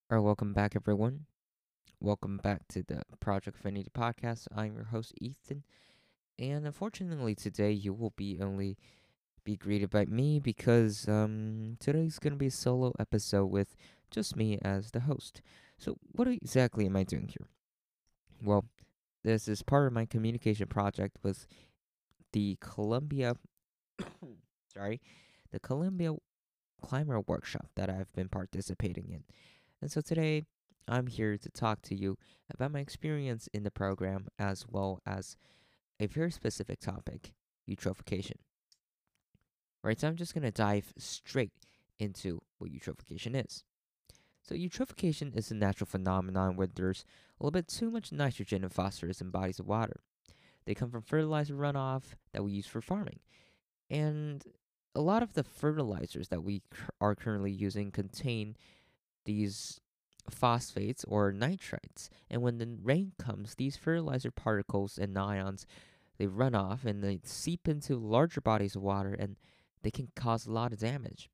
All right, welcome back, everyone. Welcome back to the Project Infinity podcast. I'm your host, Ethan, and unfortunately, today you will be only be greeted by me because today's gonna be a solo episode with just me as the host. So, what exactly am I doing here? Well, this is part of my communication project with the Columbia, sorry, the Columbia Climber Workshop that I've been participating in. And so today, I'm here to talk to you about my experience in the program as well as a very specific topic, eutrophication. Right, so I'm just going to dive straight into what eutrophication is. So, eutrophication is a natural phenomenon where there's a little bit too much nitrogen and phosphorus in bodies of water. They come from fertilizer runoff that we use for farming. And a lot of the fertilizers that we are currently using contain these phosphates or nitrites. And when the rain comes, these fertilizer particles and ions they run off and they seep into larger bodies of water and they can cause a lot of damage.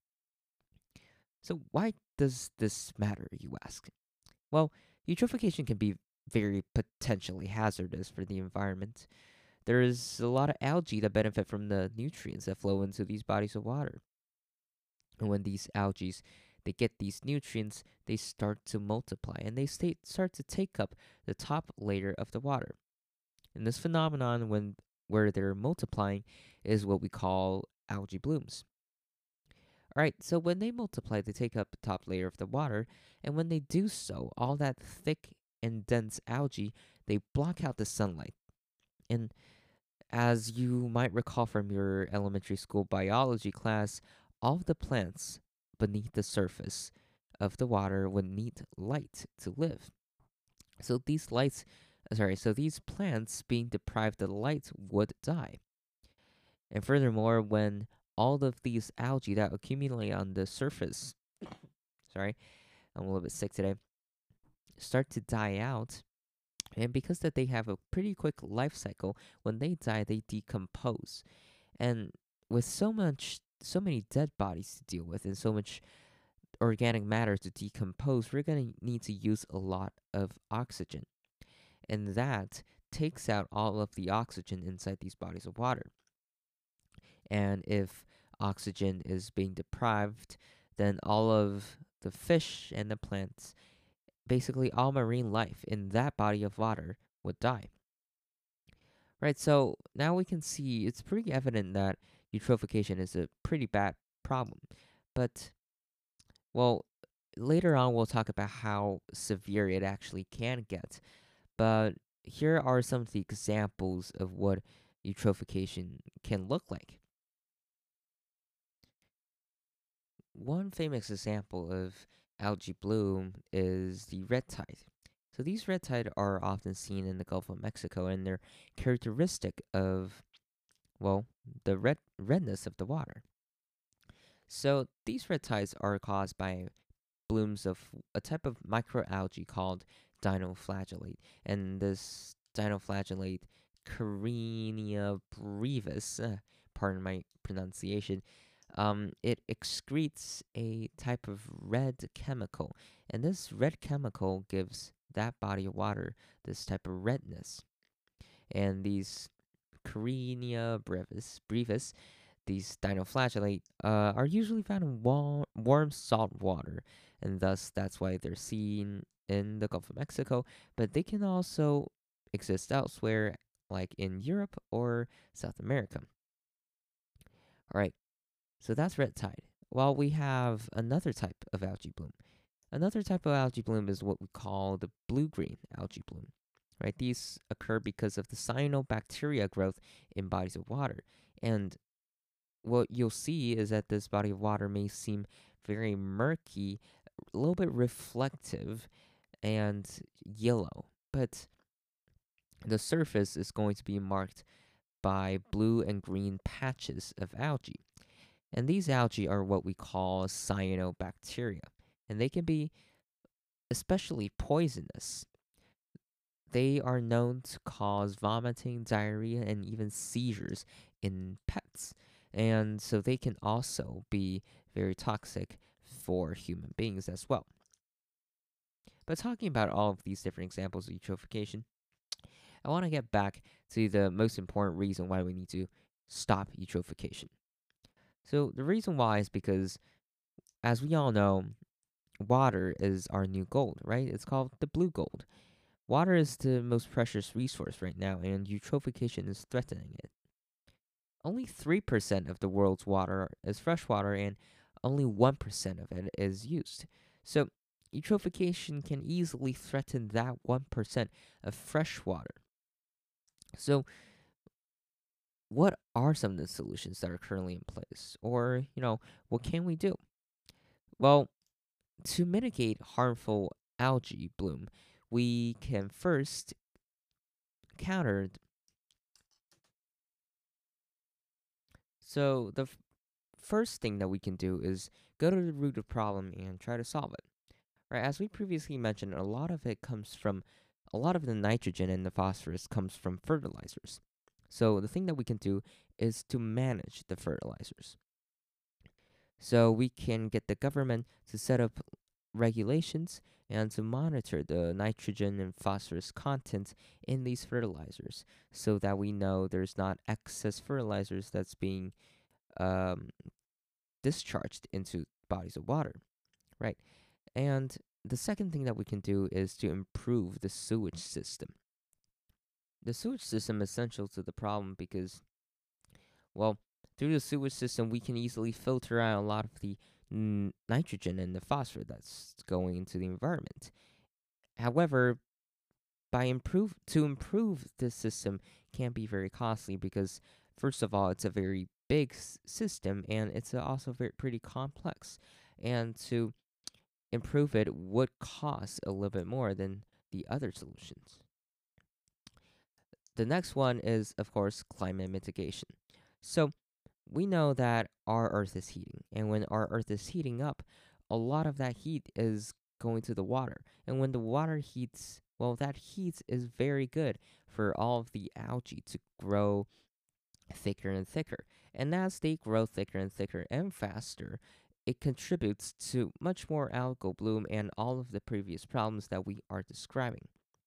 So why does this matter, you ask? Well, eutrophication can be very potentially hazardous for the environment. There is a lot of algae that benefit from the nutrients that flow into these bodies of water. And when these algae they get these nutrients, they start to multiply and they start to take up the top layer of the water. And this phenomenon when where they're multiplying is what we call algae blooms. All right, so when they multiply, they take up the top layer of the water, and when they do so, all that thick and dense algae, they block out the sunlight. And as you might recall from your elementary school biology class, all of the plants beneath the surface of the water would need light to live. So these plants being deprived of light would die. And furthermore, when all of these algae that accumulate on the surface, sorry, I'm a little bit sick today, start to die out, and because that they have a pretty quick life cycle, when they die, they decompose. And with so many dead bodies to deal with and so much organic matter to decompose, we're going to need to use a lot of oxygen. And that takes out all of the oxygen inside these bodies of water. And if oxygen is being deprived, then all of the fish and the plants, basically all marine life in that body of water, would die. Right, so now we can see it's pretty evident that eutrophication is a pretty bad problem. But, well, later on we'll talk about how severe it actually can get. But here are some of the examples of what eutrophication can look like. One famous example of algae bloom is the red tide. So these red tide are often seen in the Gulf of Mexico and they're characteristic of, well, the redness of the water. So these red tides are caused by blooms of a type of microalgae called dinoflagellate. And this dinoflagellate Carenia brevis, pardon my pronunciation, it excretes a type of red chemical. And this red chemical gives that body of water this type of redness. And these brevis, these dinoflagellate, are usually found in warm salt water, and thus that's why they're seen in the Gulf of Mexico. But they can also exist elsewhere, like in Europe or South America. All right, so that's red tide. While we have another type of algae bloom. Another type of algae bloom is what we call the blue-green algae bloom. Right? These occur because of the cyanobacteria growth in bodies of water. And what you'll see is that this body of water may seem very murky, a little bit reflective, and yellow. But the surface is going to be marked by blue and green patches of algae. And these algae are what we call cyanobacteria. And they can be especially poisonous. They are known to cause vomiting, diarrhea, and even seizures in pets. And so they can also be very toxic for human beings as well. But talking about all of these different examples of eutrophication, I want to get back to the most important reason why we need to stop eutrophication. So the reason why is because, as we all know, water is our new gold, right? It's called the blue gold. Water is the most precious resource right now, and eutrophication is threatening it. Only 3% of the world's water is freshwater, and only 1% of it is used. So, eutrophication can easily threaten that 1% of fresh water. So, what are some of the solutions that are currently in place? Or, what can we do? Well, to mitigate harmful algae bloom, we can first counter. So, the first thing that we can do is go to the root of the problem and try to solve it. Right, as we previously mentioned, a lot of the nitrogen and the phosphorus comes from fertilizers. So the thing that we can do is to manage the fertilizers. So we can get the government to set up regulations and to monitor the nitrogen and phosphorus content in these fertilizers so that we know there's not excess fertilizers that's being um, discharged into bodies of water, right? And the second thing that we can do is to improve the sewage system. The sewage system is essential to the problem because, well, through the sewage system, we can easily filter out a lot of the nitrogen and the phosphorus that's going into the environment. However, to improve this system can be very costly because, first of all, it's a very big system and it's also pretty complex. And to improve it would cost a little bit more than the other solutions. The next one is, of course, climate mitigation. So, we know that our Earth is heating, and when our Earth is heating up, a lot of that heat is going to the water. And when the water heats, well, that heat is very good for all of the algae to grow thicker and thicker. And as they grow thicker and thicker and faster, it contributes to much more algal bloom and all of the previous problems that we are describing.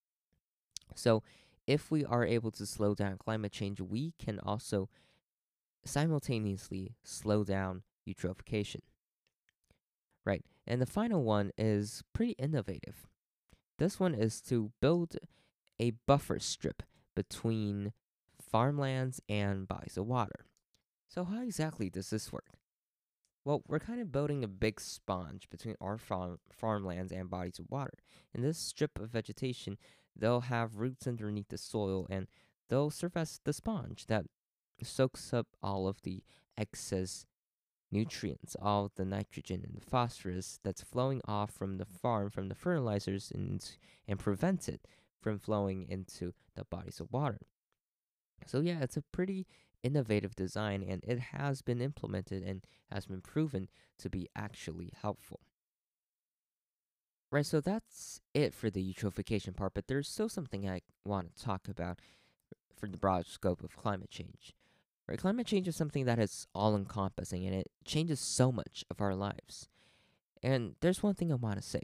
So, if we are able to slow down climate change, we can also simultaneously slow down eutrophication. Right. And the final one is pretty innovative. This one is to build a buffer strip between farmlands and bodies of water. So, how exactly does this work? Well, we're kind of building a big sponge between our farmlands and bodies of water. In this strip of vegetation, they'll have roots underneath the soil and they'll serve as the sponge that soaks up all of the excess nutrients, all the nitrogen and the phosphorus that's flowing off from the farm, from the fertilizers, and prevents it from flowing into the bodies of water. So, yeah, it's a pretty innovative design and it has been implemented and has been proven to be actually helpful. Right, so that's it for the eutrophication part, but there's still something I want to talk about for the broad scope of climate change. Right, climate change is something that is all encompassing and it changes so much of our lives. And there's one thing I want to say.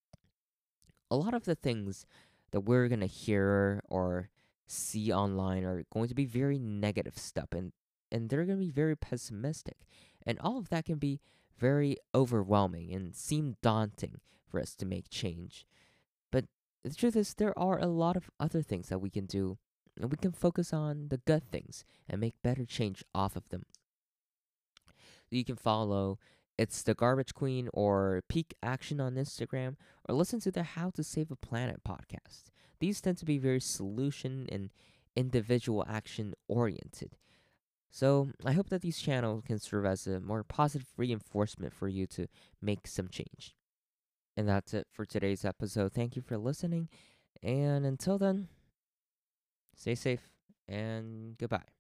A lot of the things that we're going to hear or see online are going to be very negative stuff and they're going to be very pessimistic. And all of that can be very overwhelming and seem daunting for us to make change. But the truth is, there are a lot of other things that we can do, and we can focus on the good things and make better change off of them. You can follow It's the Garbage Queen or Peak Action on Instagram, or listen to the How to Save a Planet podcast. These tend to be very solution and individual action oriented. So I hope that these channels can serve as a more positive reinforcement for you to make some change. And that's it for today's episode. Thank you for listening. And until then, stay safe and goodbye.